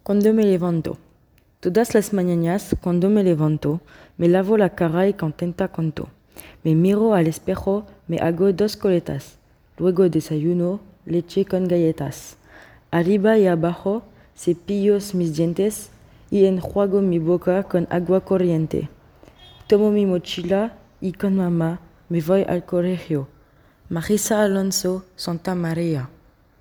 Cuando me levanto. Todas las mañanas, cuando me levanto, me lavo la cara y contenta canto. Me miro al espejo, me hago 2 coletas. Luego desayuno, leche con galletas. Arriba y abajo, cepillo mis dientes y enjuago mi boca con agua corriente. Tomo mi mochila y con mamá me voy al colegio. Marisa Alonso, Santa María.